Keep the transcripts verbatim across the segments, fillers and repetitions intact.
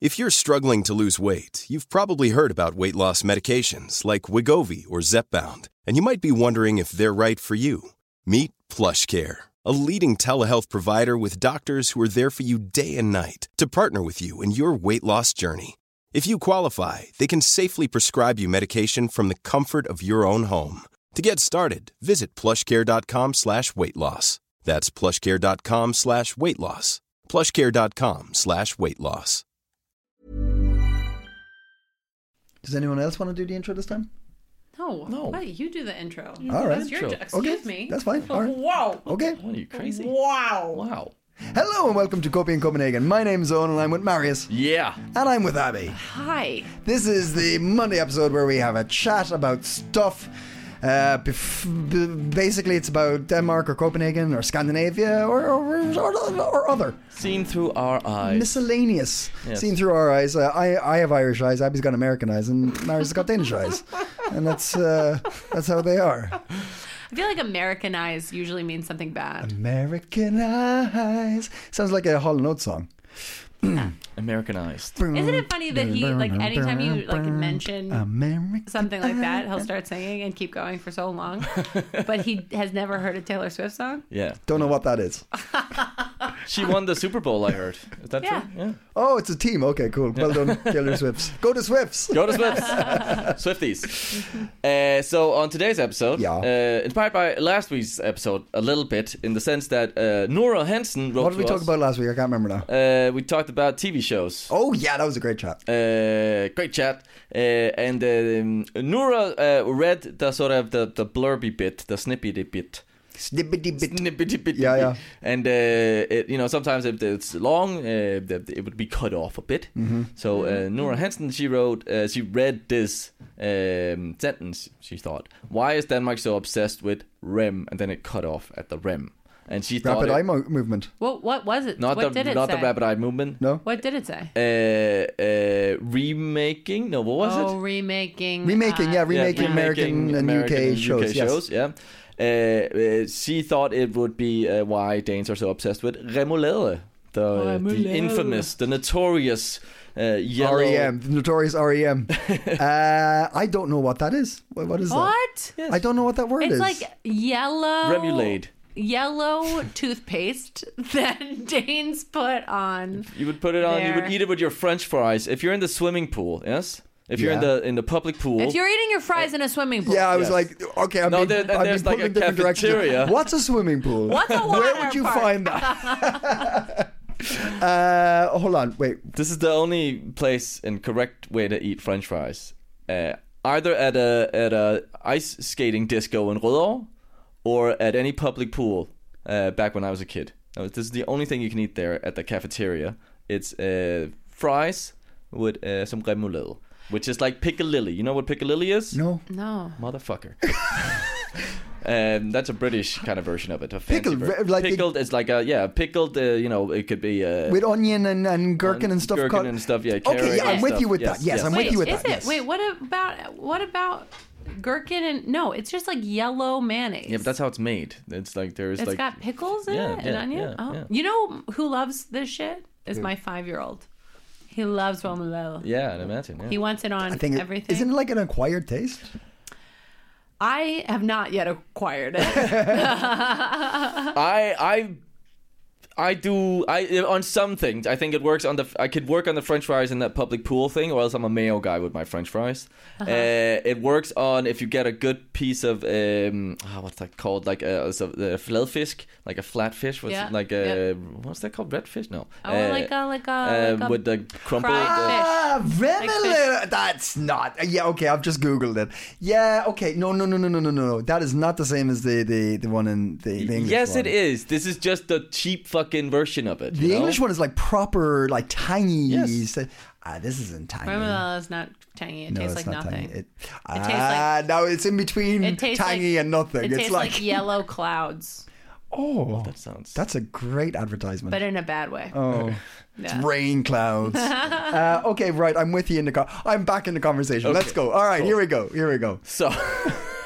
If you're struggling to lose weight, you've probably heard about weight loss medications like Wegovy or Zepbound, and you might be wondering if they're right for you. Meet PlushCare, a leading telehealth provider with doctors who are there for you day and night to partner with you in your weight loss journey. If you qualify, they can safely prescribe you medication from the comfort of your own home. To get started, visit plushcare.com slash weight loss. That's plushcare.com slash weight loss. plushcare.com slash weight loss. Does anyone else want to do the intro this time? No. No. Why you do the intro? All right. That's your, Intro. excuse Okay, me. that's fine. All right. Wow. Okay. What are you, crazy? Wow. Wow. Hello and welcome to Copy in Copenhagen. My name's Owen and I'm with Marius. Yeah. And I'm with Abby. Hi. This is the Monday episode where we have a chat about stuff. Uh, bef- b- basically, it's about Denmark or Copenhagen or Scandinavia or or, or, or other. Seen through our eyes. Miscellaneous. Yes. Seen through our eyes. Uh, I I have Irish eyes. Abby's got American eyes, and Marius has got Danish eyes, and that's uh, that's how they are. I feel like American eyes usually means something bad. American eyes sounds like a Hall and Oates song. Americanized. Isn't it funny that he, like, anytime you, like, mention American something like that, he'll start singing and keep going for so long. But he has never heard a Taylor Swift song? Yeah. Don't know what that is. She won the Super Bowl, I heard. Is that Yeah. true? Yeah. Oh, it's a team. Okay, cool. Well done, Taylor Swifts. Go to Swifts. Go to Swifts. Swifties. Uh, so on today's episode, Yeah. uh, inspired by last week's episode a little bit, in the sense that uh, Nora Hansen wrote What did we to talk us. about last week? I can't remember now. Uh, we talked about T V shows. Oh, yeah, that was a great chat. Uh, great chat. Uh, and um, Nora uh, read the sort of the, the blurby bit, the snippety bit. Snippety bit. Snippety bit. Yeah, yeah. And uh, it, you know, sometimes if it's long, uh, it would be cut off a bit. Mm-hmm. So uh, Nora Hansen, she wrote, uh, she read this um, sentence. She thought, "Why is Denmark so obsessed with R E M?" And then it cut off at the R E M. And she thought Rapid it, eye mo- movement. What What was it? not what the did it not say? the rapid eye movement. No? What did it say? Uh, uh, remaking. No, what was oh, it? remaking. Remaking, uh, yeah, remaking Yeah, American and American U K and shows. U K yes. shows, yeah. Uh, uh, she thought it would be uh, why Danes are so obsessed with remoulade, the, uh, the Remoulade. infamous, the notorious uh, yellow. R E M, the notorious R E M. uh, I don't know what that is. What, what is What? that? I don't know what that word It's is. like yellow. Remoulade. Yellow toothpaste that Danes put on. You would put it on. You There. would eat it with your French fries. If you're in the swimming pool, yes. If you're in Yeah. the in the public pool. If you're eating your fries in a swimming pool. Yeah, I was Yes. like, okay, I'm No, being, there- and I'm there's being like pulled a in different directions. cafeteria. What's a swimming pool? What's a Where water would you park? find that? uh, hold on, wait. This is the only place and correct way to eat French fries. Uh, either at a at a ice skating disco in Rødovre, or at any public pool. Uh, back when I was a kid, Now, this is the only thing you can eat there at the cafeteria. It's uh, fries with uh, some remoulade, which is like piccalilli. You know what piccalilli is? No. No. Motherfucker. Um, that's a British kind of version of it. A fancy Pickled, ver- like the- pickled is like a yeah pickled. Uh, you know, it could be uh, With onion and, and gherkin and stuff. Gherkin cut- and stuff. Yeah. Okay, carrot yeah, and I'm with stuff. you with that. Yes, I'm with Wait, you with is that. it? Yes. Wait, what about what about gherkin and no? It's just like yellow mayonnaise. Yeah, but that's how it's made. It's like there's It's like got pickles in Yeah, it and yeah, onion. yeah, oh, yeah. you know who loves this shit? Is my five-year-old. He loves remoulade. yeah, I imagine. Yeah. He wants it on I think it, everything. isn't it like an acquired taste? I have not yet acquired it. I I I do I on some things I think it works on the I could work on the French fries in that public pool thing, or else I'm a mayo guy with my French fries. Uh-huh. Uh, it works on if you get a good piece of um oh, what's that called, like a, so the flatfish, like a flat fish. What's Yeah, like a yeah. what's that called? Redfish? No. Oh, Uh, like a like a, uh, like a with the crumpled. fried uh, fish. Ah, remoulade. fish. That's not. Yeah, okay. I've just googled it. Yeah, okay. No, no, no, no, no, no, no. That is not the same as the the, the one in the, the English yes, one. it is. This is just the cheap fucking version of it. The you know? English one is like proper, like tangy. Yes. So- ah, this isn't tangy. Remoulade is not tangy. It no, tastes it's like not nothing. tangy. It, It tastes ah, no, it's in between It tastes tangy like- and nothing. It it's tastes like, like yellow clouds, oh, That sounds. that's a great advertisement. but in a bad way. Oh, Yeah. it's rain clouds. uh, okay, right. I'm with you in the. Co- I'm back in the conversation. Okay, Let's go. All right, cool. here we go. Here we go. So,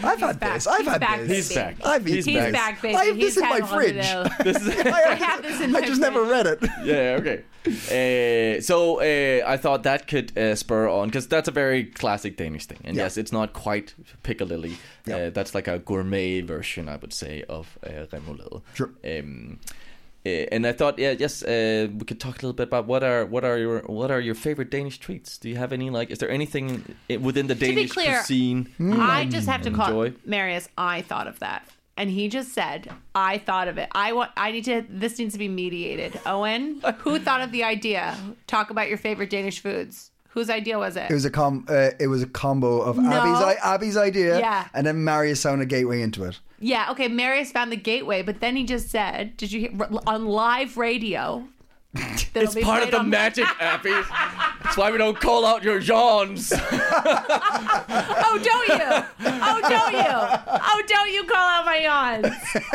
I've had back. this. I've He's had back, this. He's baby. back. I've He's eaten He's this. back, baby. I have He's this in my had all of fridge. those. This is I have this in my I just fridge. never read it. yeah, okay. Uh, so uh, I thought that could uh, spur on, because that's a very classic Danish thing. And Yeah. yes, it's not quite Piccadilly. Yeah. Uh, that's like a gourmet version, I would say, of uh, remoulade. Sure. Um, uh, and I thought, yeah, yes, uh, we could talk a little bit about what are what are your what are your favorite Danish treats? Do you have any, like? Is there anything i- within the be Danish clear, cuisine? I just have to call Enjoy. Marius. I thought of that, and he just said, "I thought of it." I want. I need to. This needs to be mediated. Owen, who thought of the idea? Talk about your favorite Danish foods. Whose idea was it? It was a com. Uh, it was a combo of No. Abby's I- Abby's idea, Yeah. and then Marius found a gateway into it. Yeah. Okay. Marius found the gateway, but then he just said, "Did you hear on live radio?" that'll It's be part of played the on- magic, Abby. That's why we don't call out your yawns. Oh, don't you? Oh, don't you? Oh, don't you call out my yawns?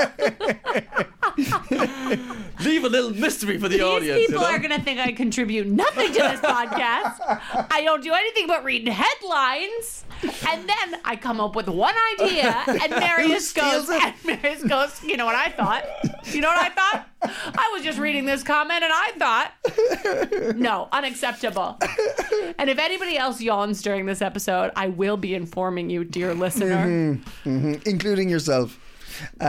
Leave a little mystery for the These audience. people you know? are going to think I contribute nothing to this podcast. I don't do anything but read headlines. And then I come up with one idea, and Marius Who goes, steals it? and Marius goes, you know what I thought? You know what I thought? I was just reading this comment, and I thought, no, unacceptable. And if anybody else yawns during this episode, I will be informing you, dear listener. Mm-hmm. Including yourself. Uh,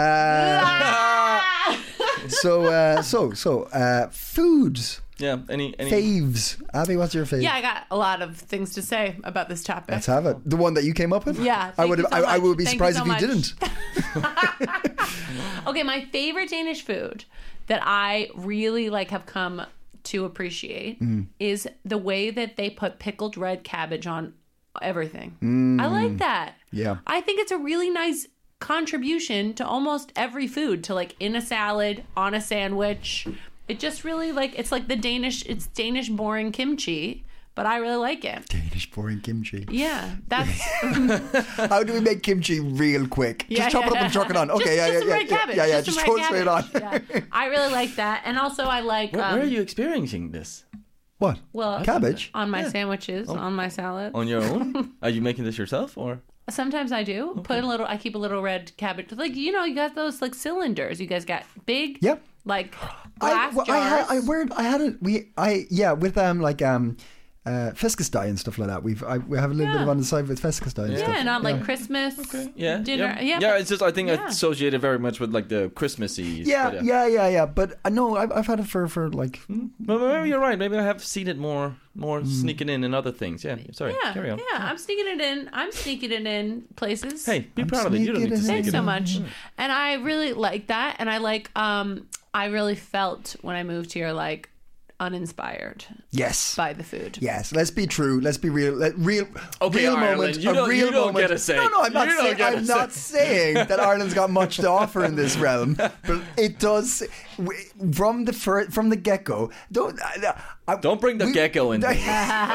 Ah! so, uh, so, so, uh, foods, Yeah, any any faves. Abby, what's your fave? Yeah, I got a lot of things to say about this topic. Let's have it. The one that you came up with? Yeah, I thank would. you have, so I, I much. would be Thank surprised you if so you much. didn't. Okay, my favorite Danish food that I really like have come to appreciate Mm. is the way that they put pickled red cabbage on everything. Mm. I like that. Yeah. I think it's a really nice contribution to almost every food, to like in a salad, on a sandwich. It just really like, it's like the Danish, it's Danish boring kimchi, but I really like it. Danish boring kimchi. Yeah, that's How do we make kimchi real quick? Yeah, just chop yeah, it up and yeah. chuck it on. Okay, just, yeah, just yeah, some yeah, red yeah, cabbage. yeah, yeah. Just, Just some throw red it straight on. cabbage. Yeah. I really like that, and also I like. Where, um, where are you experiencing this? What? Well, Cabbage? on my sandwiches, on my salad. On your own? Are you making this yourself, or? Sometimes I do put a little. I keep a little red cabbage. Like you know, you got those like cylinders. You guys got big. Yep. Like I, glass well, I jars. had, I, where, I had it. We, I, yeah, with um, like um, uh, fiskesteg and stuff like that. We've, I, we have a little bit Yeah. of on the side with fiskesteg and yeah, stuff. and on like Christmas Yeah, dinner. yeah, Yeah, yeah. but- It's just I think I yeah. associate it very much with like the Christmassy. Yeah, but, yeah, yeah, yeah. But uh, no, I've, I've had it for, for like. But maybe you're right. Maybe I have seen it more, more sneaking in and other things. Yeah. Sorry. Yeah, Carry on. yeah. I'm sneaking it in. I'm sneaking it in places. Hey, be I'm proud of it. You don't need to sneaking sneak it it Thanks in. so much. And I really like that. And I like, um, I really felt when I moved here, like uninspired Yes. by the food. Yes, let's be true. Let's be real. Let, real, Okay, real Ireland, moment. you a don't- real you don't moment. get a say. No, no, I'm not You don't saying. get a I'm say. not saying that Ireland's got much to offer in this realm, but it does w- from the fir- from the get go. Don't I, I, Don't bring the we- gecko in. I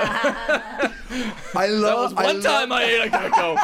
That love. was one I time love, I ate a gecko.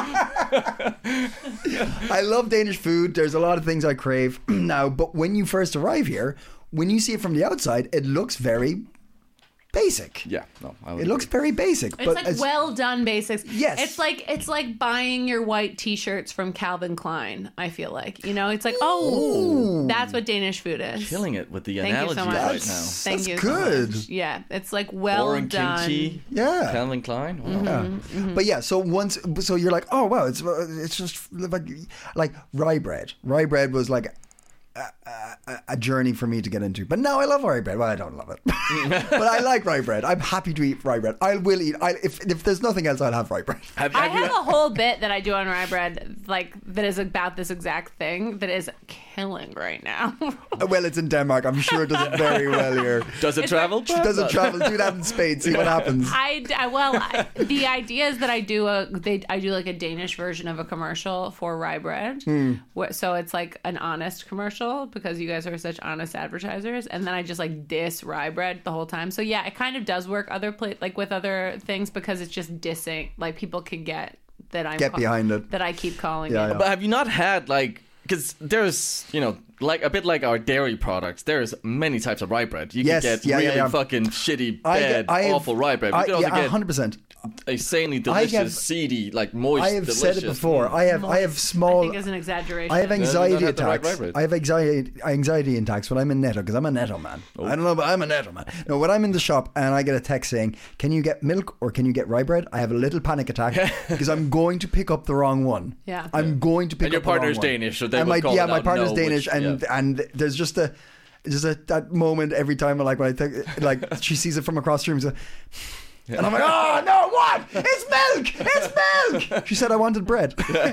I love Danish food. There's a lot of things I crave now, but when you first arrive here, when you see it from the outside, it looks very basic. Yeah, no. I would It looks agree. very basic. It's but like as- well done basics. Yes. It's like it's like buying your white t-shirts from Calvin Klein, I feel like. You know, it's like, oh, that's what Danish food is. killing it with the Thank you analogies so much. right That's- now. Thank That's you. good. So much. Yeah, it's like well Boring done. kimchi. Yeah. Calvin Klein. Wow. Yeah. Mm-hmm. But yeah, so once, so you're like, oh wow, it's it's just like like rye bread. Rye bread was like a, a, a journey for me to get into. But now I love rye bread. Well, I don't love it, but I like rye bread. I'm happy to eat rye bread. I will eat. I if if there's nothing else, I'll have rye bread. Have, I have you, have a whole bit that I do on rye bread, like that is about this exact thing that is killing right now. Well, it's in Denmark. I'm sure it does it very well here. does it It's travel? like- Does it travel? Do that in Spain. See what happens. I, I well, I, the idea is that I do a they I do like a Danish version of a commercial for rye bread, where, so it's like an honest commercial because you guys are such honest advertisers, and then I just like diss rye bread the whole time. So yeah, it kind of does work other pla- like with other things because it's just dissing. Like people can get that I'm Get behind it. that I keep calling Yeah, it. yeah. But have you not had like, because there's, you know, like a bit like our dairy products, there's many types of rye bread. You Yes, can get yeah, really yeah, yeah. fucking shitty, I bad, get- I have- awful rye bread. You I, can also yeah, get one hundred percent. insanely delicious, have- seedy, like moist. I have delicious. said it before. I have I have I small. think is an exaggeration. I have you don't anxiety have the right attacks. rye bread. I have anxiety anxiety attacks when I'm in Netto because I'm a Netto man. Oh. I don't know, but I'm a Netto man. No, when I'm in the shop and I get a text saying, "Can you get milk or can you get rye bread?" I have a little panic attack because I'm going to pick up the wrong one. Yeah. I'm going to pick And your up the wrong partner's one. Danish, so they and will my, call yeah, it my out, partner's know Danish, which- and yeah. and there's just a just a that moment every time. Like when I think, like she sees it from across the room. So, and I'm like, oh no, what? It's milk! It's milk! She said I wanted bread.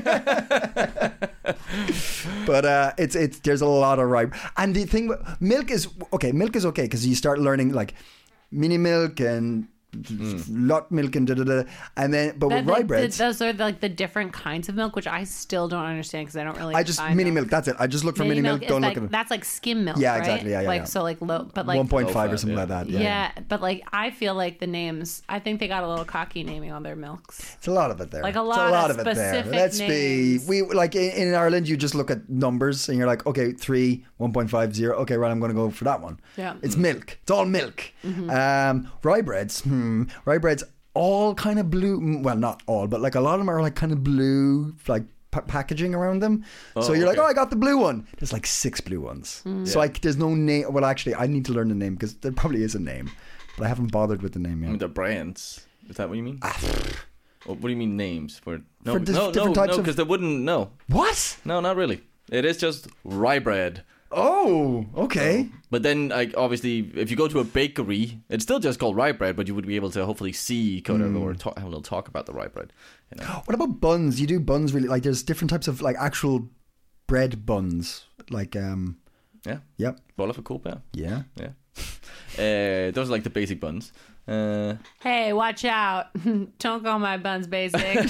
But uh, it's it's there's a lot of rye. And the thing, milk is okay. Milk is okay because you start learning like mini milk and lot milk and da da da. And then, but That- with rye that- breads, those are like the different kinds of milk, which I still don't understand because I don't really. I just buy mini milk. That's it. I just look for mini, milk. is Don't like, look at it. That's like skim milk. Yeah, right? exactly. Yeah, yeah, Like yeah. so, like low, but like one point five Low or fat, something yeah. like that. Yeah. Yeah, but like I feel like the names. I think they got a little cocky naming all their milks. it's a lot of it there. Like a It's lot of it there. specific Let's names. be. We like in, in Ireland, you just look at numbers and you're like, okay, three, one point five zero. Okay, right, I'm going to go for that one. Yeah. It's milk. It's all milk. Um, rye breads. Hmm. Rye breads. All kind of blue. Well, not all, but like a lot of them are like kind of blue, like pa- packaging around them. so you're like, okay. oh, I got the blue one. There's like six blue ones. So like, there's no name. Well, actually, I need to learn the name because there probably is a name, but I haven't bothered with the name I yet. mean, the brands. Is that what you mean? Or what do you mean names? For no, For dis- no, different no, types no, of- because they wouldn't. No, What? no, not really. It is just rye bread. Oh, okay. But then, like, obviously, if you go to a bakery, it's still just called rye bread, but you would be able to hopefully see kind of or talk, have a little talk about the rye bread. You know? What about buns? You do buns really like there's different types of like actual bread buns. Like um Yeah, yep. bolla for cool, yeah, Yeah. yeah. Uh, those are like the basic buns. Uh, Hey, watch out! Don't call my buns basic.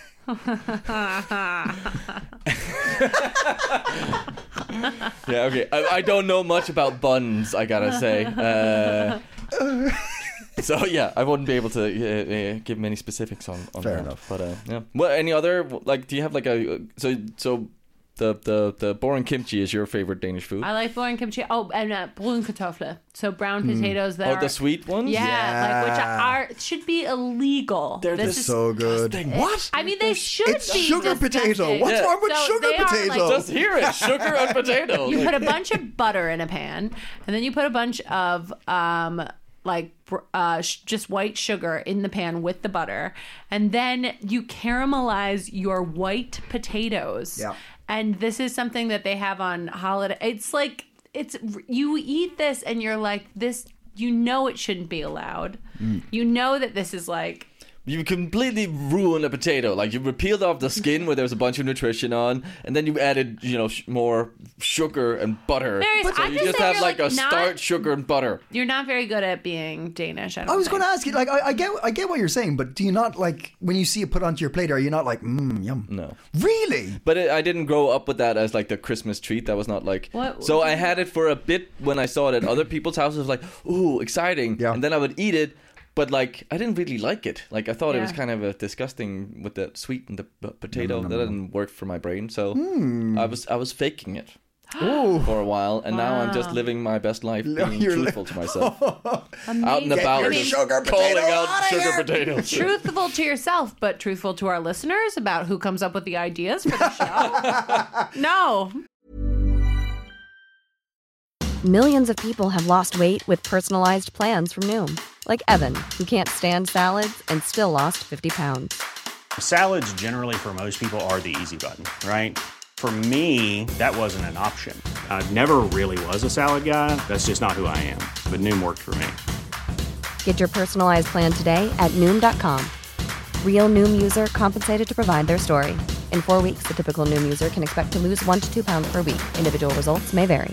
yeah, okay. I, I don't know much about buns, I gotta say. Uh, so yeah, I wouldn't be able to uh, uh, give many specifics on, on Fair that. enough. But uh, yeah. Well, any other like? Do you have like a so so the the the boring kimchi is your favorite Danish food? I like boring kimchi. Oh, and uh, brun kartofler. So brown potatoes that oh, are the sweet ones. Yeah, Yeah. like which are should be illegal. They're this just is So good. What? I mean, they should It's be sugar disgusting. potato. What's Yeah. wrong with So sugar they are, potato? like- Just hear it, sugar and potato. You Like- put a bunch of butter in a pan, and then you put a bunch of um like br- uh sh- just white sugar in the pan with the butter, and then you caramelize your white potatoes. Yeah. And this is something that they have on holiday. It's like it's you eat this and you're like this. You know it shouldn't be allowed. You know that this is like. You completely ruin a potato. Like you peeled off the skin where there's a bunch of nutrition on, and then you added, you know, sh- more sugar and butter. Marius, so I'm you just just saying have you're, like, like, a not- starch, sugar, and butter. You're not very good at being Danish. I, don't I was think. going to ask you, like, I, I get, I get what you're saying, but do you not like when you see it put onto your plate? Are you not like, mmm, yum? No. Really? But it, I didn't grow up with that as like the Christmas treat. That was not like. What- So I had it for a bit when I saw it at other people's houses. Like, ooh, exciting! Yeah. And then I would eat it, but like I didn't really like it. Like I thought it was Yeah. kind of a disgusting with the sweet and the p- potato. That didn't work for my brain. So Hmm. I was I was faking it Oh, for a while, and now I'm just Wow. living my best life, being You're li- truthful to myself, Amazing. out and Get about, your just sugar calling potato out outta sugar here. potatoes. Truthful to yourself, but truthful to our listeners about who comes up with the ideas for the show. No. Millions of people have lost weight with personalized plans from Noom. Like Evan, who can't stand salads and still lost fifty pounds. Salads generally for most people are the easy button, right? For me, that wasn't an option. I never really was a salad guy. That's just not who I am. But Noom worked for me. Get your personalized plan today at Noom dot com. Real Noom user compensated to provide their story. In four weeks, the typical Noom user can expect to lose one to two pounds per week. Individual results may vary.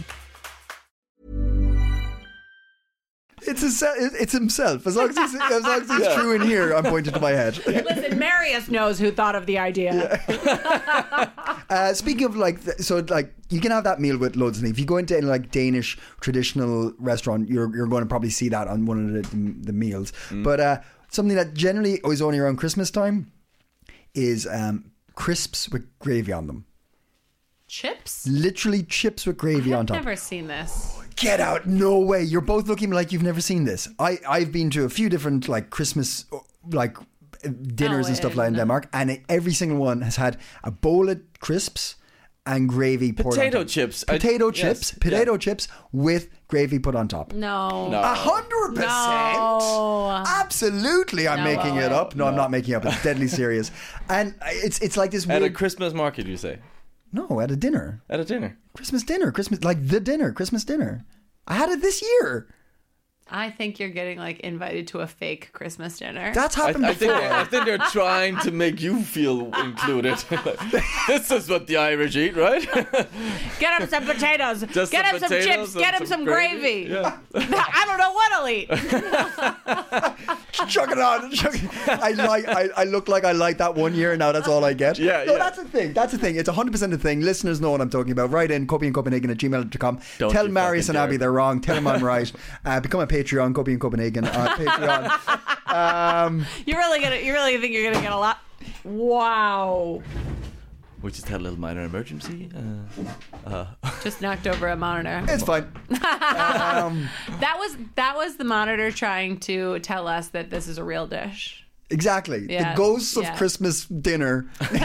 it's a, it's himself. As long as he's, as long as he's true in here, I'm pointing to my head. Listen, Marius knows who thought of the idea. Uh, speaking of like, th- so like you can have that meal with loads of things. If you go into any like Danish traditional restaurant, you're you're going to probably see that on one of the, the meals. But uh, something that generally is only around Christmas time is um, crisps with gravy on them. Chips? Literally chips with gravy I've on top. never seen this. Get out! No way! You're both looking like you've never seen this. I I've been to a few different like Christmas like dinners Oh, and stuff yeah, like in no. Denmark, and it, every single one has had a bowl of crisps and gravy poured Potato on top. chips. I- Potato yes, chips. yeah. Potato chips with gravy put on top. No. No. A hundred percent. No. Absolutely, I'm No making it way. up. No, I'm not making it up. It's deadly serious, and it's it's like this At a weird. Christmas market, you say? No, at a dinner, At a dinner. Christmas dinner, Christmas like the dinner, Christmas dinner. I had it this year. I think you're getting like invited to a fake Christmas dinner. That's I, happened I think before. I think they're trying to make you feel included. This is what the Irish eat, right? Get him some potatoes. Just Get some him some potatoes chips. and Get him some some gravy. gravy. Yeah. I don't know what I'll eat. Chuck it on. Chuck it. I like. I, I look like I like that one year. Now that's all I get. Yeah, No, yeah. that's the thing. That's the thing. It's one hundred percent a thing. Listeners know what I'm talking about. Write in copy and Copenhagen at gmail dot com. Don't Tell you Marius fucking and Abby dare. they're wrong. Tell them I'm right. Uh, become a Patreon. Copy and Copenhagen. Uh, Patreon. Um, You're really gonna. You really think you're gonna get a lot. Wow. We just had a little minor emergency. Uh, Just knocked over a monitor. it's fine. Um, That was that was the monitor trying to tell us that this is a real dish. exactly. Yeah, The ghosts of yeah. Christmas dinner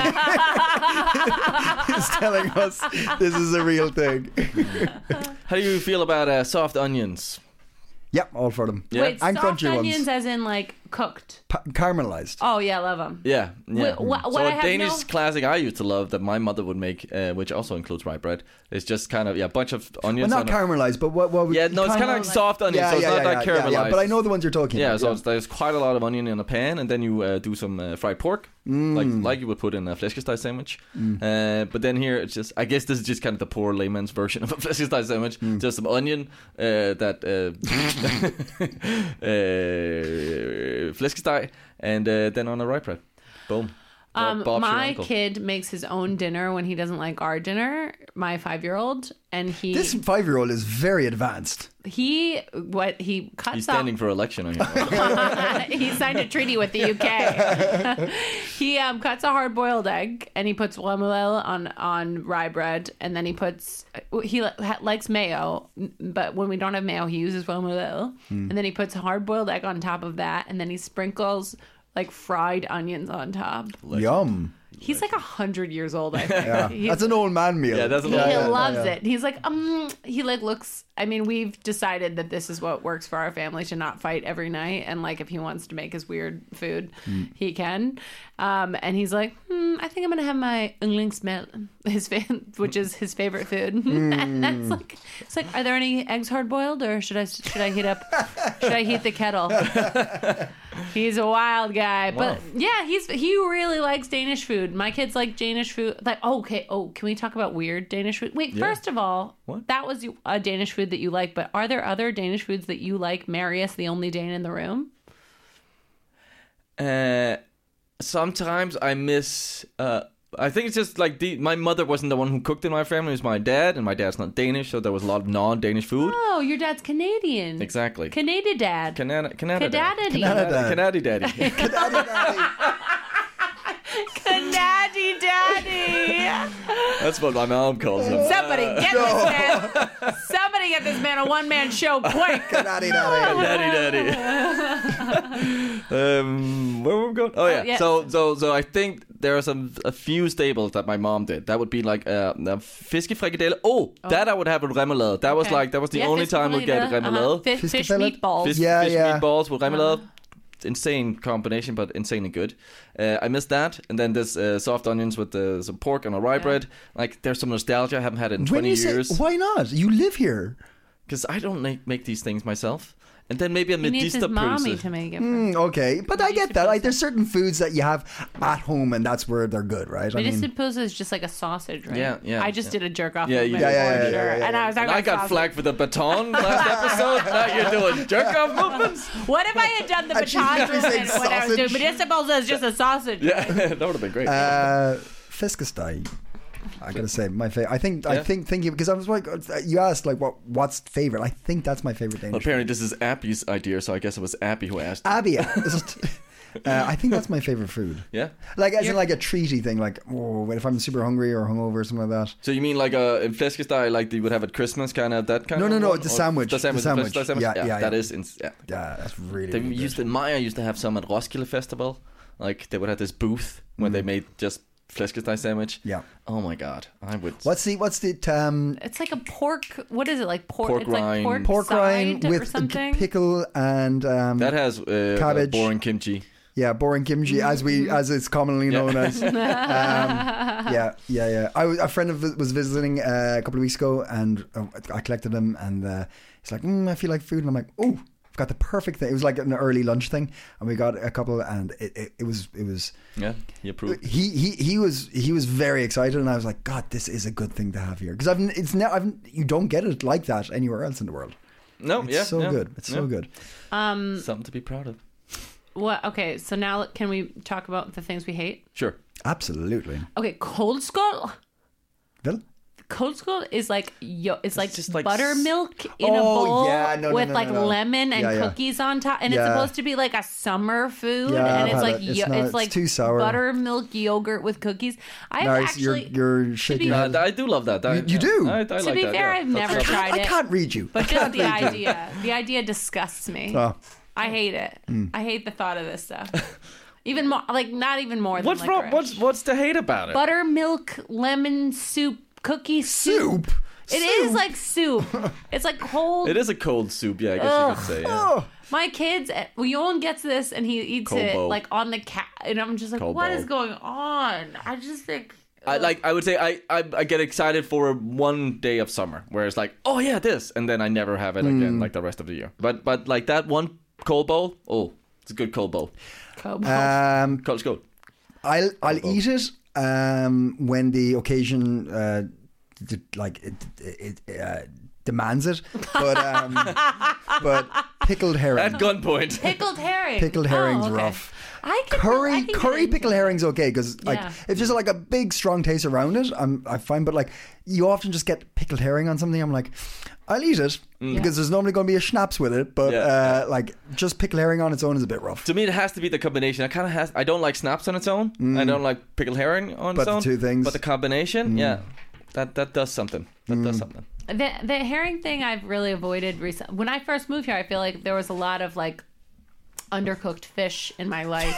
is telling us this is a real thing. how do you feel about uh, soft onions? Yep, all for them. Yeah. Wait, And soft crunchy onions ones. as in like cooked. Pa- caramelized. Oh yeah, love them. Yeah, yeah. Wh- wh- so what I a have Danish no- classic I used to love that my mother would make, uh, which also includes rye bread, is just kind of yeah, a bunch of Well, onions. not on a- caramelized, but what? what we, Yeah, no, it's kind of like soft onions, so it's not like yeah, caramelized. yeah, but I know the ones you're talking Yeah, about. so it's, there's quite a lot of onion in a pan, and then you uh, do some uh, fried pork, like like you would put in a flæskesteg sandwich. Uh, but then here it's just, I guess this is just kind of the poor layman's version of a flæskesteg sandwich. Just some onion uh, that uh, uh, flæskesteg, and uh, then on a rye bread. Boom. Bob- Um, Bob's your my uncle. kid makes his own dinner when he doesn't like our dinner. My five-year-old, and he This five-year-old is very advanced. he what he cuts He's off. standing for election on here. He signed a treaty with the U K. He um, cuts a hard-boiled egg and he puts remoulade on on rye bread, and then he puts he li- ha- likes mayo, but when we don't have mayo, he uses remoulade, and then he puts a hard-boiled egg on top of that, and then he sprinkles like fried onions on top. Yum. He's like a hundred years old, I think. Yeah. He's- That's an old man meal. Yeah, that's an he old yeah, loves yeah. it. He's like, um, he like looks. I mean, we've decided that this is what works for our family to not fight every night, and like if he wants to make his weird food, he can. Um, and he's like, hmm, I think I'm gonna have my yndlingsmad, his fa- which is his favorite food. And that's like, it's like, are there any eggs hard boiled, or should I should I heat up? Should I heat the kettle? He's a wild guy, but yeah, he's he really likes Danish food. My kids like Danish food. Like, oh, okay, oh, can we talk about weird Danish food? Wait, Yeah. first of all, What? that was a Danish food that you like, but are there other Danish foods that you like? Marius, the only Dane in the room. Uh, sometimes I miss. Uh, I think it's just like the, my mother wasn't the one who cooked in my family. It was my dad, and my dad's not Danish, so there was a lot of non-Danish food. Oh, your dad's Canadian. Exactly. Canada dad. Canada, Canada, Canada daddy. daddy. Canada Canada daddy. Canada daddy. That's what my mom calls him. Somebody get this man. Somebody get this man a one-man show quick. Daddy, daddy. Daddy, daddy. um, where were we going? Oh yeah. yeah. So, so, so I think there are some a few staples that my mom did. That would be like uh, a fiskefrikadelle. Oh, that I would have with remoulade. That was Okay. like that was the Yeah, only fish time we'd get fillet, remoulade. uh-huh. Fish, Fish fish fillet? meatballs. Fish, Yeah, fish yeah. meatballs with remoulade. Insane combination, but insanely good. Uh, I missed that, and then there's uh, soft onions with uh, some pork on a rye bread. Like there's some nostalgia. I haven't had it in When twenty you say, years why not? You live here. because I don't make, make these things myself. And then maybe a He needs his Medista mommy pølse. to make it. For Mm, okay, but I get that. Like, there's certain foods that you have at home, and that's where they're good, right? I Medicine mean, pizza is just like a sausage, right? Yeah, yeah, I just yeah. did a jerk off. Yeah, you movement did. Yeah, yeah, before, yeah, sure. yeah, yeah, And I was And talking I about got sausage. flagged for the baton last episode. Now you're doing jerk off movements. What if I had done the And she baton never said movement when I was doing sausage. medicinal pizza is just a sausage? Yeah, that would have been great. uh, fiskesteg. I gotta say, my favorite. I think, I Yeah. think, thinking because I was like, you asked like, what, what's favorite? I think that's my favorite Danish. Apparently, this is Appy's idea, so I guess it was Appy who asked. Abby, just Uh, I think that's my favorite food. Yeah. Like as in like a treaty thing. Like oh, if I'm super hungry or hungover or something like that. So you mean like a, a flæskesteg like you would have at Christmas, kind of that kind No, of no, no, one? the Or sandwich. The sandwich. The sandwich. The sandwich. Yeah, Yeah, yeah, that yeah. is. Ins- yeah. Yeah, that's really. They really used good. to, Maya used to have some at Roskilde Festival. Like they would have this booth where Mm. they made just flæskesteg sandwich. Yeah. Oh my god, I would. What's the what's the um, It's like a pork. What is it like? Pork. Pork it's like rind. pork, pork rind side with or a something. pickle and um, That has uh, Cabbage. boring kimchi. yeah, boring kimchi as we as it's commonly known as. Um, yeah, yeah, yeah. I was, a friend of was visiting uh, a couple of weeks ago, and uh, I collected him, and uh, he's like, mm, "I feel like food," and I'm like, "Oh, I've got the perfect thing." It was like an early lunch thing, and we got a couple, and it, it, it was it was. Yeah, he approved. He he he was he was very excited, and I was like, "God, this is a good thing to have here," because I've it's now I've you don't get it like that anywhere else in the world. No, It's yeah, so yeah, good. It's yeah. so good. Um. Something to be proud of. What? Okay. So now can we talk about the things we hate? Sure. Absolutely. Okay. Cold skull. Well, Cold skull is like yo, it's like just like buttermilk in a Oh, bowl yeah, no, no, with no, no, like no. lemon and Yeah, yeah. cookies on top, and it's Yeah. supposed to be like a summer food, Yeah, and I've it's had like it. It's yo- not- it's it's like too sour. buttermilk yogurt with cookies. I've Nice. actually, You're you're shaking be- your Uh, head. I do love that. I, You- you do? I, I to like be that, fair, yeah. I've That's never lovely. tried I it, can't read you. but I just can't the read you. idea, the idea disgusts me. Oh. I hate it. I hate the thought of this stuff. Even more, like not even more than What's wrong? licorice. What's what's to hate about it? Buttermilk lemon soup cookie soup. Soup. It is like soup. It's like cold. It is a cold soup. Yeah, I guess you could say. Yeah. Oh. My kids, well, Yolan gets this and he eats Cold it bowl. like on the cat, and I'm just like, Cold what bowl. is going on? I just think. I like. I would say I, I I get excited for one day of summer where it's like, oh yeah, this, and then I never have it again like the rest of the year. But but like that one cold bowl, oh, it's a good cold bowl. Cold Um, Cold, cold. I'll I'll eat it um, when the occasion uh, d- like it, it uh, demands it. But um, but pickled herring, At gunpoint. Pickled herring. pickled herring's Oh, okay. rough. I can Curry I can get curry into pickled it. herring's okay because like Yeah. if there's like a big strong taste around it, I'm I find. But like you often just get pickled herring on something. I'm like, I'll eat it because there's normally going to be a schnapps with it. But Yeah. uh, like just pickled herring on its own is a bit rough. To me, it has to be the combination. I kind of has. I don't like snaps on its own. I don't like pickled herring on But its the own. two things- But the combination, yeah, that that does something. That does something. The the herring thing I've really avoided recently. When I first moved here, I feel like there was a lot of like undercooked fish in my life.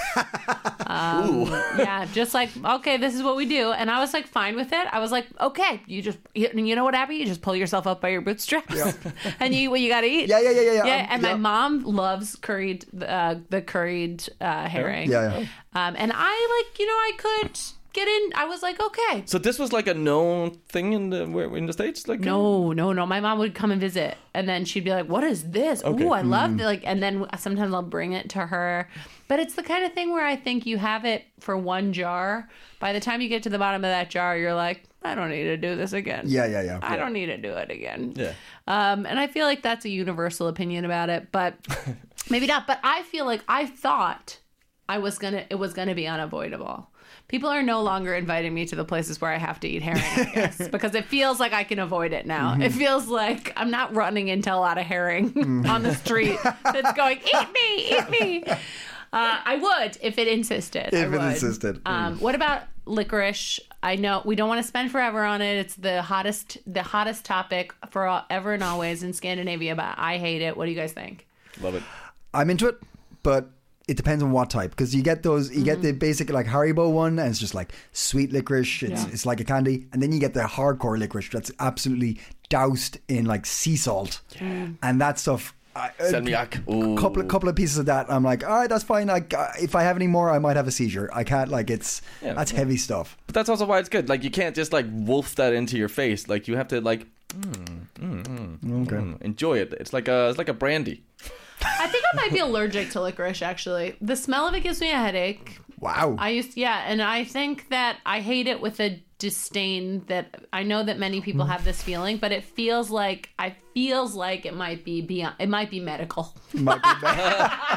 Um, yeah, just like, okay, this is what we do. And I was like fine with it. I was like, okay, you just, you, you know what, Abby? You just pull yourself up by your bootstraps and you eat what you got to eat. Yeah, yeah, yeah, yeah, yeah. Yeah, Um, and yeah. my mom loves curried, uh, the curried uh, herring. Yeah, yeah. Um, and I like, you know, I could get in. I was like, okay. So this was like a known thing in the where, in the States, like No, no, no. My mom would come and visit, and then she'd be like, "What is this? Okay. Ooh, I love it!" Like, and then sometimes I'll bring it to her. But it's the kind of thing where I think you have it for one jar. By the time you get to the bottom of that jar, you're like, "I don't need to do this again." Yeah, yeah, yeah. I don't need to do it again. Yeah. Um, and I feel like that's a universal opinion about it, but maybe not. But I feel like I thought I was gonna, it was gonna be unavoidable. People are no longer inviting me to the places where I have to eat herring, I guess, because it feels like I can avoid it now. Mm-hmm. It feels like I'm not running into a lot of herring on the street that's going, eat me, eat me. Uh, I would if it insisted. I If it would. insisted. Um, what about licorice? I know we don't want to spend forever on it. It's the hottest, the hottest topic for all, ever and always in Scandinavia, but I hate it. What do you guys think? Love it. I'm into it, but it depends on what type. Because you get those, you get the basic like Haribo one, and it's just like sweet licorice. It's Yeah. it's like a candy, and then you get the hardcore licorice that's absolutely doused in like sea salt, and that stuff. I, Salmiak. Ooh. a couple of couple of pieces of that. I'm like, all right, that's fine. Like, uh, if I have any more, I might have a seizure. I can't. Like, it's Yeah. that's heavy stuff. But that's also why it's good. Like you can't just like wolf that into your face. Like you have to like mm, mm, mm, Okay. mm, enjoy it. It's like a it's like a brandy. I think I might be allergic to licorice, actually. The smell of it gives me a headache. Wow. I used, yeah, and I think that I hate it with a disdain that I know that many people have this feeling, but it feels like I feels like it might be beyond, it might be medical. Might be bad.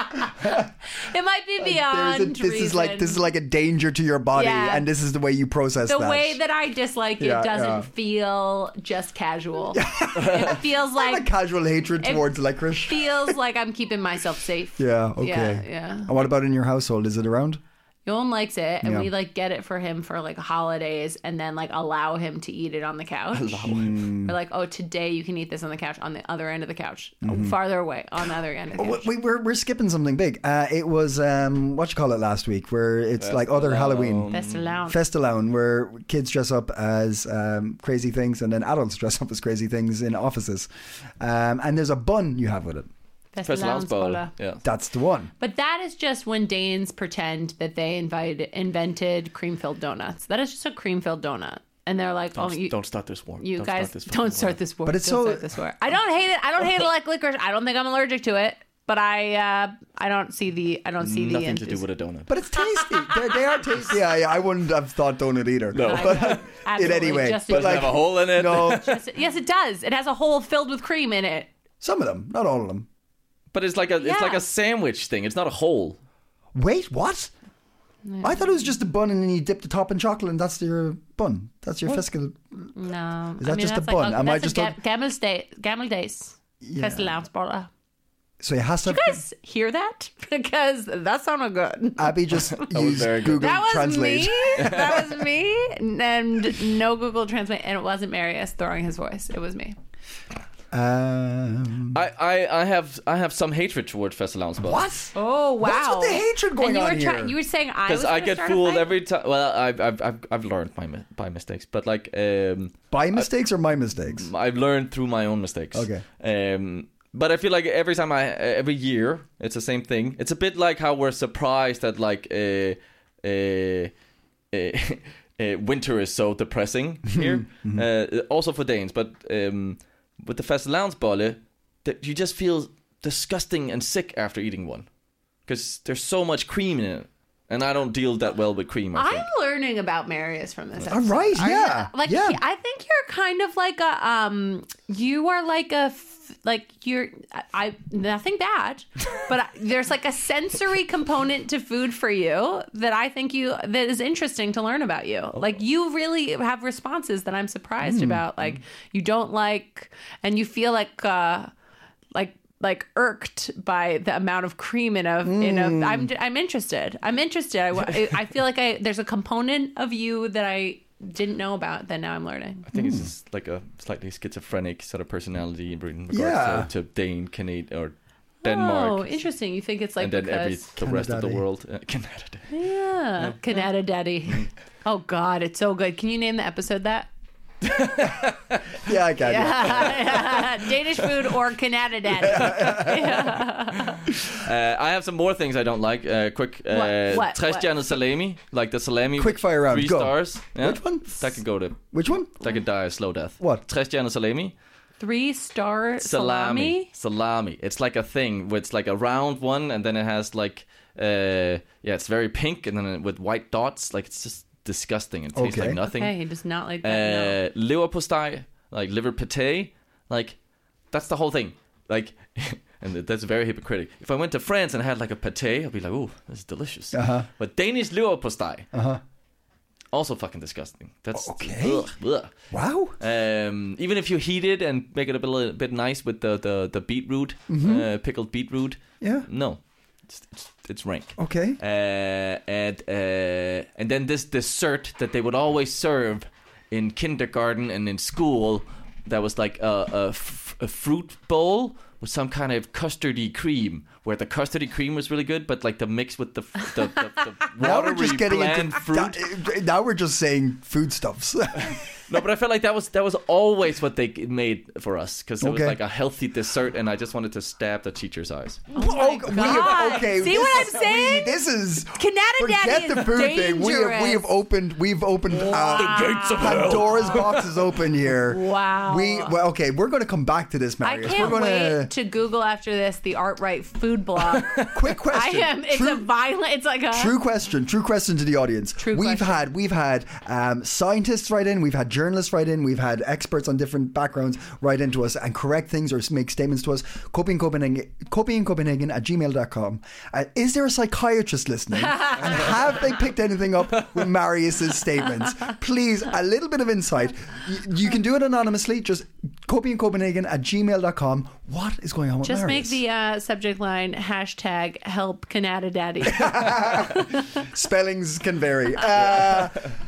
It might be beyond There's a, this reason. is like this is like a danger to your body, Yeah. and this is the way you process the that. way that I dislike it Yeah, doesn't yeah. feel just casual. It feels Not like a casual hatred it towards licorice. feels like I'm keeping myself safe. Yeah. Okay. Yeah, yeah. And what about in your household? Is it around? Yolan likes it, and Yeah. we like get it for him for like holidays, and then like allow him to eat it on the couch. We're like, oh, today you can eat this on the couch, on the other end of the couch, Mm-hmm. farther away, on the other end of the couch. We, we're we're skipping something big. Uh, it was um, what you call it last week, where it's like other Halloween. That's allowed. Festilown, where kids dress up as um, crazy things, and then adults dress up as crazy things in offices. Um, and there's a bun you have with it. Fastelavnsbolle. Yeah. That's the one. But that is just when Danes pretend that they invited, invented cream-filled donuts. That is just a cream-filled donut. And they're like, Don't, oh, you, don't start this war. you don't guys start this don't war. start this war. But it's Don't so- start this war. I don't hate it. I don't hate it like licorice. I don't think I'm allergic to it. But I uh, I don't see the I don't see the Nothing to do enthusi- with a donut. But it's tasty. They're, they are tasty. Yeah, yeah. I wouldn't have thought donut either. No. I- But in absolutely, any way. just- But Does it like, have a hole in it? no, Yes, it- yes, it does. It has a hole filled with cream in it. some of them, not all of them. But it's like a it's Yeah. like a sandwich thing. It's not a hole. Wait, what? I thought it was just a bun, and then you dip the top in chocolate, and that's your bun. That's your fiscal. No, Is that I mean, just a that's bun? Like, Am I that's just a a- ga- Gammel day, Gammel days, Fastelavnsbolle. So it has to. You guys hear that? Because that sounded good. Abby just was used very good. Google That was Translate. me. That was me. And no Google Translate. And it wasn't Marius throwing his voice. It was me. Um, I, I, I have I have some hatred towards Fastelavnsbolle. what? Oh, wow. What's with the hatred going and you on were here? try- you were saying I was Because I gonna get start a fooled fight? every time. Well, I've I've I've, I've learned my mi- by mistakes, but like um, By mistakes or my mistakes? I've learned through my own mistakes. Okay. Um, but I feel like every time I every year it's the same thing. It's a bit like how we're surprised that like uh, uh, uh, uh, winter is so depressing here. uh, also for Danes, but um, with the Fastelavnsbolle, that you just feel disgusting and sick after eating one because there's so much cream in it, and I don't deal that well with cream. I think. I'm learning about Marius from this. All episode. right, Are you- yeah, like yeah. he- I think you're kind of like a um. You are like a f- like you're I, I nothing bad, but I, there's like a sensory component to food for you that I think you that is interesting to learn about you. Like you really have responses that I'm surprised about. Like you don't like, and you feel like uh like. like irked by the amount of cream in a in a I'm I'm interested. I'm interested. I, I feel like I there's a component of you that I didn't know about that now I'm learning. I think it's just like a slightly schizophrenic sort of personality in regards Yeah. to, to Dane, Canada, or Denmark, Oh, interesting. You think it's like and then every because the rest of the Canada. world. Uh, Canada. yeah, Canada Daddy. Oh God, it's so good. Can you name the episode that? Yeah, I can. Yeah. Danish food or Canada Daddy? Uh, I have some more things I don't like. Uh, quick, uh, What? What? Trestjernet salami, like the salami. Quick with fire round, Three go. stars. Yeah? Which one? That could go to. Which one? That could die a slow death. What? Trestjernet salami. Three star Salami. salami. Salami. It's like a thing where it's like a round one, and then it has like, uh, yeah, it's very pink, and then it, with white dots. Like it's just disgusting. It tastes Okay. like nothing. Okay, he does not like that. Uh, leverpostej, like liver pate, like that's the whole thing. Like, and that's very hypocritical. If I went to France and had like a pate, I'd be like, "Ooh, this is delicious." Uh-huh. But Danish leverpostej, Uh-huh. also fucking disgusting. That's Okay. ugh, ugh. Wow. Um, even if you heat it and make it a bit, a bit nice with the the, the beetroot, uh, pickled beetroot, Yeah. no, it's, it's, it's rank. Okay. Uh, and uh, and then this dessert that they would always serve in kindergarten and in school, that was like a, a, f- a fruit bowl with some kind of custardy cream, where the custardy cream was really good, but like the mix with the f- the, the, the Now watery we're just getting bland into fruit. that- now we're just saying foodstuffs. No, but I felt like that was that was always what they made for us, because it was Okay. like a healthy dessert, and I just wanted to stab the teacher's eyes. Oh my Okay, we have, God. okay, See this what I'm is- saying? we- this is Canada forget Daddy the is food thing. We have we have dangerous. opened we've opened uh, The gates of hell. Pandora's box is open here. Wow. We well, okay. We're going to come back to this, I Marius. can't we're going wait to Google after this the Artright food blog. Quick I question. am. It's True- a violent. It's like a True question. True question to the audience. True we've question. had we've had um, scientists write in. We've had journalists write in. We've had experts on different backgrounds write into us and correct things or make statements to us. Copy in Copenhagen, copy in Copenhagen at gmail dot com. Uh, is there a psychiatrist listening? And have they picked anything up with Marius's statements? Please, a little bit of insight. You, you can do it anonymously. Just copy in Copenhagen at gmail dot com. What is going on with Just Marius? make the uh, subject line hashtag help Canada Daddy. Spellings can vary. Uh,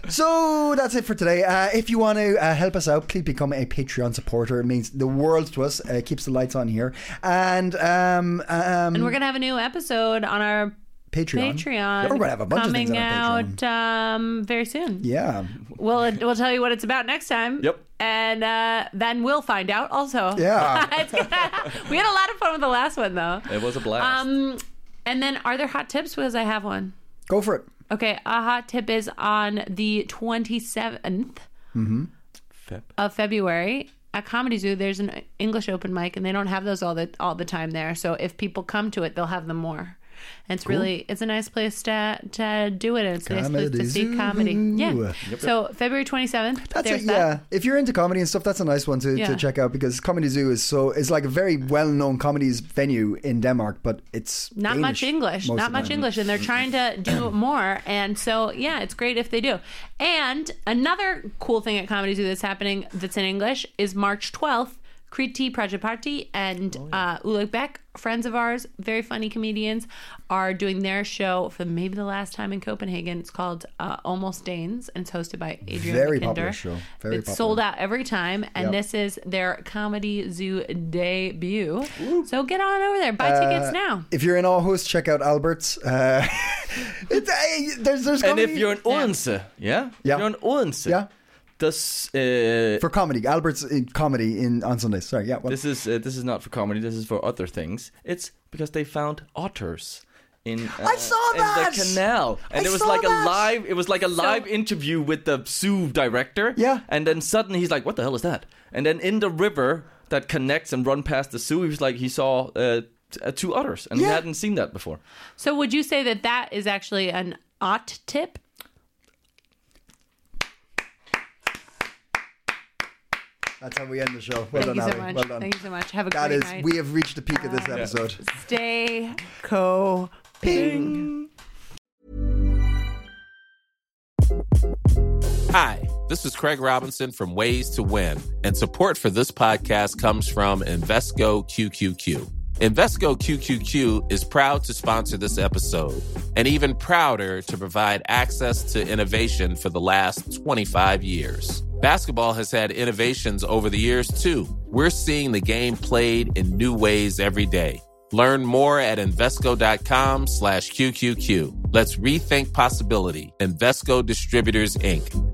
so that's it for today. Uh, if you want to uh, help us out, please become a Patreon supporter. It means the world to us. Uh, it keeps the lights on here. And um, um, And we're going to have a new episode on our Patreon. Patreon. We're going to have a bunch of things coming on our out um, very soon. Yeah. We'll we'll tell you what it's about next time. Yep. And uh, then we'll find out also. Yeah. It's gonna, we had a lot of fun with the last one though. It was a blast. Um, and then are there hot tips? Because I have one. Go for it. Okay, a hot tip is on the twenty-seventh Mm-hmm. Feb. of February at Comedy Zoo. There's an English open mic, and they don't have those all the all the time there. So if people come to it, they'll have them more. And it's really, it's a nice place to to do it. And it's a nice place to Comedy see Zoo. comedy. Yeah. So February twenty-seventh. That's there's it, that. yeah. If you're into comedy and stuff, that's a nice one to, Yeah. to check out because Comedy Zoo is so it's like a very well known comedy venue in Denmark, but it's Not Danish much English, most not of the much time. English, and they're trying to do more. And so, yeah, it's great if they do. And another cool thing at Comedy Zoo that's happening that's in English is March twelfth. Kriti Prajapati and oh, yeah. uh, Ulrik Beck, friends of ours, very funny comedians, are doing their show for maybe the last time in Copenhagen. It's called uh, Almost Danes, and it's hosted by Adrian Very McKinder. popular show. Very it's popular. sold out every time, and Yep. this is their Comedy Zoo debut. Ooh. So get on over there, buy tickets Uh, now. If you're in Aarhus, check out Albert's. Uh, it's, uh, there's, there's and comedy. if you're in Odense, yeah, yeah? Yeah. If you're in Odense, Yeah. does uh, For comedy, Albert's in comedy in on Sundays. Sorry, yeah. What? this is uh, this is not for comedy. This is for other things. It's because they found otters in uh, I saw in that! the canal, and I it was saw like that! a live. It was like a So- live interview with the zoo director. Yeah. and then suddenly he's like, "What the hell is that?" And then in the river that connects and run past the zoo, he was like, he saw uh, t- uh, two otters, and Yeah. he hadn't seen that before. So would you say that that is actually an ot tip? That's how we end the show. Well Thank done, you so Ali. much. Well done. Thank you so much. Have a That great is, night. we have reached the peak of this episode. Stay co-ping. Hi, this is Craig Robinson from Ways to Win, and support for this podcast comes from Invesco Q Q Q. Invesco Q Q Q is proud to sponsor this episode, and even prouder to provide access to innovation for the last twenty-five years. Basketball has had innovations over the years, too. We're seeing the game played in new ways every day. Learn more at Invesco.com slash QQQ. Let's rethink possibility. Invesco Distributors, Incorporated.